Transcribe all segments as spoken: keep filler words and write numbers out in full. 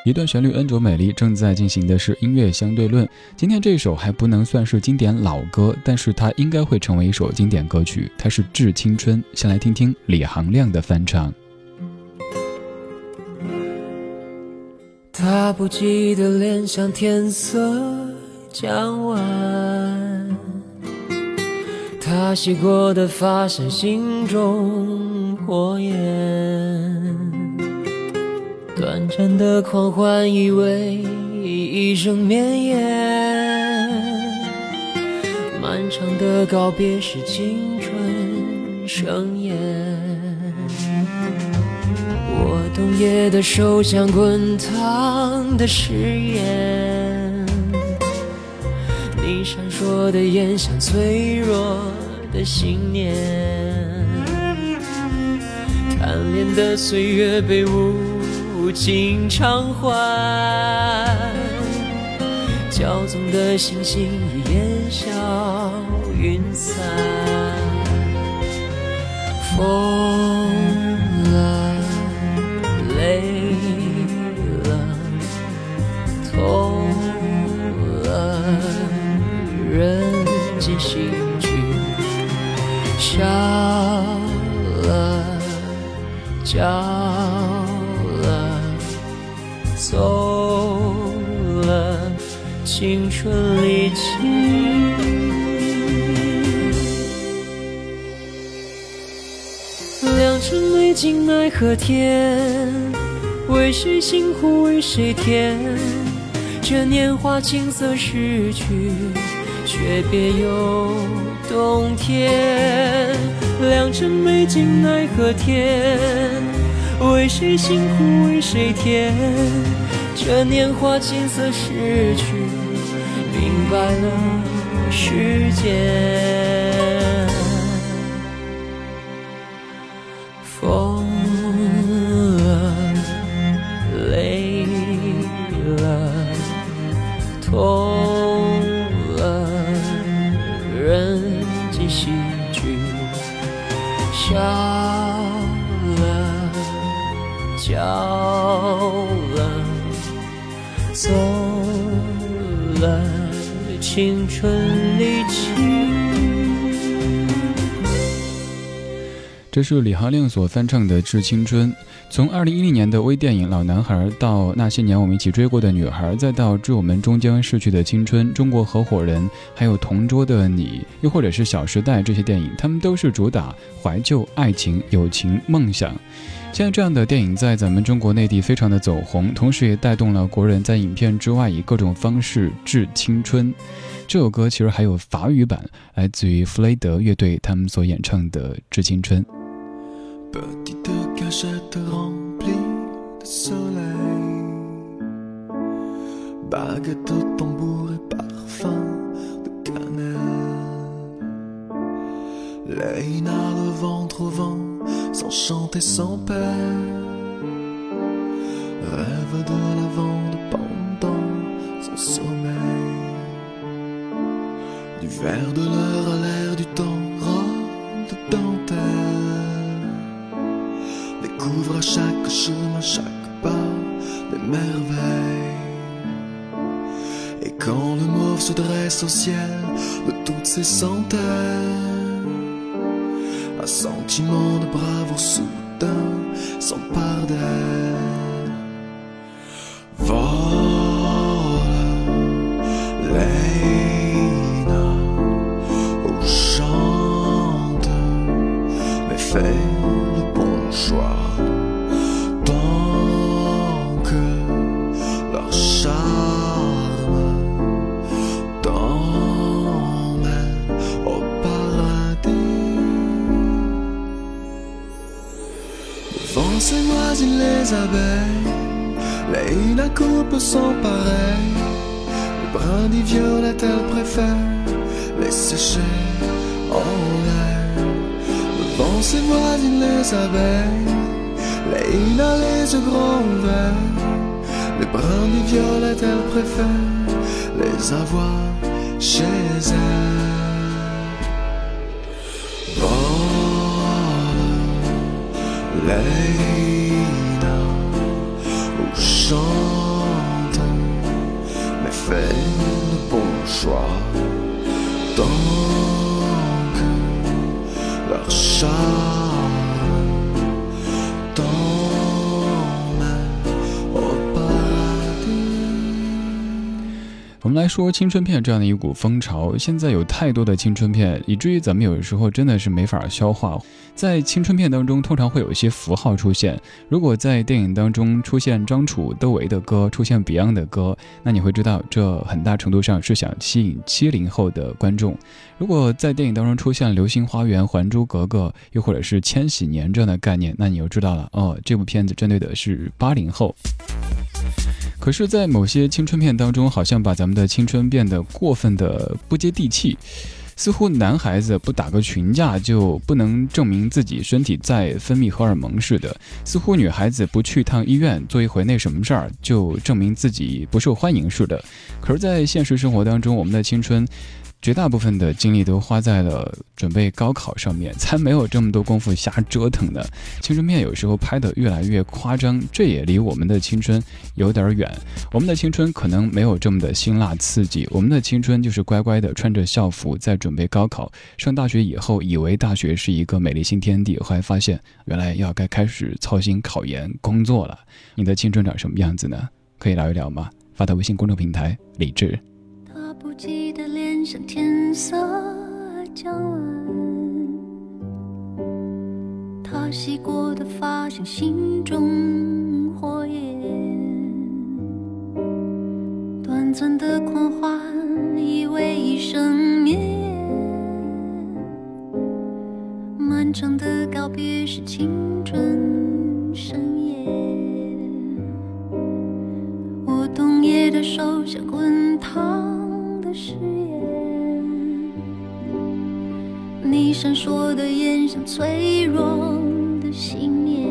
一段旋律恩卓美丽，正在进行的是音乐相对论。今天这首还不能算是经典老歌，但是它应该会成为一首经典歌曲，它是《致青春》。先来听听李行亮的翻唱。 他不记得脸像天色将晚，他洗过的发像心中火焰，短暂的狂欢以为一生绵延，漫长的告别是青春盛宴。我冬夜的手像滚烫的誓言，你闪烁的眼像脆弱的信念，贪恋的岁月被无尽偿还，骄纵的星星已烟消云散。疯了，累了，痛了，人间喜剧，笑了，叫了，走了，青春离奇。良辰美景奈何天，为谁辛苦为谁甜，这年华青涩逝去，却别有洞天。良辰美景奈何天，为谁辛苦为谁甜，这年华青涩逝去，明白了世间。疯了，累了，痛了，人间喜剧，笑了，叫了，走了，青春离奇。 这是李行亮所翻唱的《致青春》。从二零一零年的微电影《老男孩》到那些年我们一起追过的女孩，再到致我们终将逝去的青春、中国合伙人，还有同桌的你，又或者是《小时代》，这些电影他们都是主打怀旧、爱情、友情、梦想。像这样的电影在咱们中国内地非常的走红，同时也带动了国人在影片之外以各种方式致青春。这首歌其实还有法语版，来自于弗雷德乐队他们所演唱的《致青春》。 Petite cachette remplie de soleil, baguette, tambour et parfum de cannelle. Léina, le ventre au vent, sans chanter, sans paix. Rêve de lavande pendant son sommeil. Du verre de l'heure à l'air du temps, robe de dentelle.Découvre à chaque chemin, chaque pas, des merveilles. Et quand le mauve se dresse au ciel de toutes ses centaines, un sentiment de bravoure soudain s'empare d'elle. Vole, Léina, oh chante, mais fais.Le bon choix.Tant que leur charme t'emmène au paradis. Devant ces voisines les abeilles, Léina coupe son pareil. Les brindilles violettes elle préfère les sécher en l'air.Devant ses voisines les abeilles, Léina les yeux grands ouverts. Les brindilles violettes elle préfère les avoir chez elle. Vole, Léina, ou chante 我们来说青春片这样的一股风潮，现在有太多的青春片，以至于咱们有时候真的是没法消化。在青春片当中通常会有一些符号出现，如果在电影当中出现张楚窦唯的歌，出现 Beyond 的歌，那你会知道这很大程度上是想吸引七零后的观众。如果在电影当中出现流星花园、还珠格格，又或者是千禧年这样的概念，那你又知道了，哦，这部片子针对的是八零后。可是在某些青春片当中，好像把咱们的青春变得过分的不接地气，似乎男孩子不打个群架就不能证明自己身体在分泌荷尔蒙似的，似乎女孩子不去趟医院做一回那什么事儿就证明自己不受欢迎似的。可是在现实生活当中，我们的青春绝大部分的精力都花在了准备高考上面，才没有这么多功夫瞎折腾的。青春片有时候拍得越来越夸张，这也离我们的青春有点远。我们的青春可能没有这么的辛辣刺激，我们的青春就是乖乖的穿着校服在准备高考。上大学以后，以为大学是一个美丽新天地，后来发现原来要该开始操心考研工作了。你的青春长什么样子呢？可以聊一聊吗？发到微信公众平台李志。 他不记得脸上天色将晚，他洗过的发像心中火焰，短暂的狂欢以为一生绵延，漫长的告别是青春深夜，我冬夜的手像滚烫的誓言，你闪烁的眼像脆弱的信念，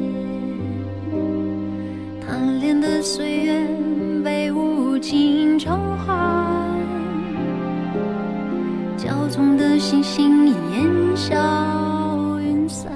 贪恋的岁月被无情召唤，骄纵的星星烟消云散，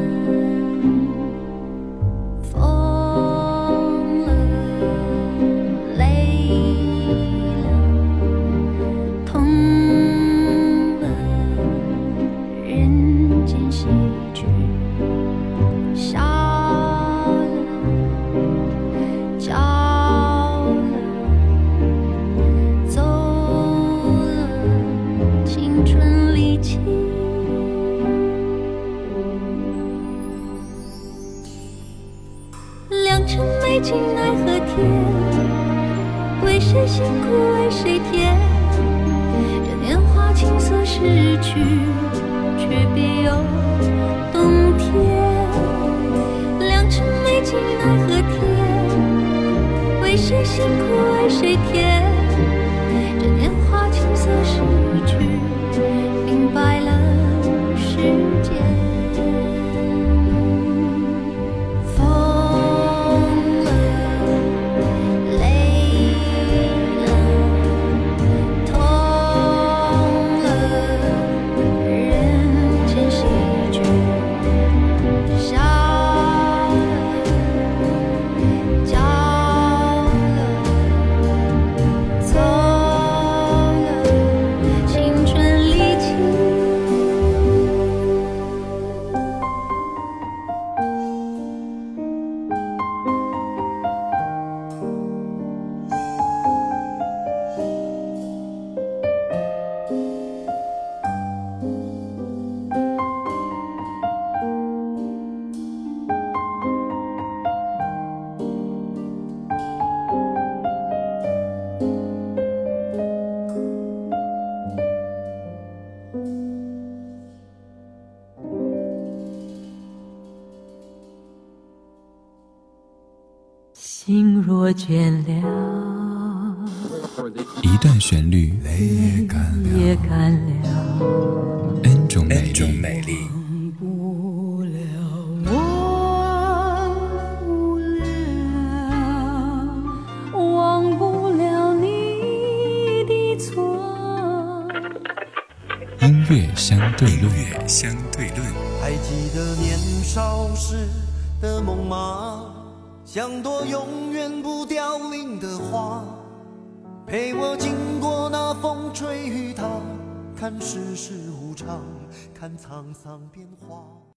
未经奈何天，为谁辛苦为谁甜，这年华青涩逝去，却别有冬天。良辰美景奈何天，为谁辛苦为谁甜，这年华青涩逝去，明白了世间。心若倦了， 一段旋律泪也干了， N 种美丽， 忘不了，忘不了，忘不了你的错。 音乐相对论，音乐相对论。 还记得年少时的梦吗？像朵永远不凋零的花，陪我经过那风吹雨打，看世事无常，看沧桑变化。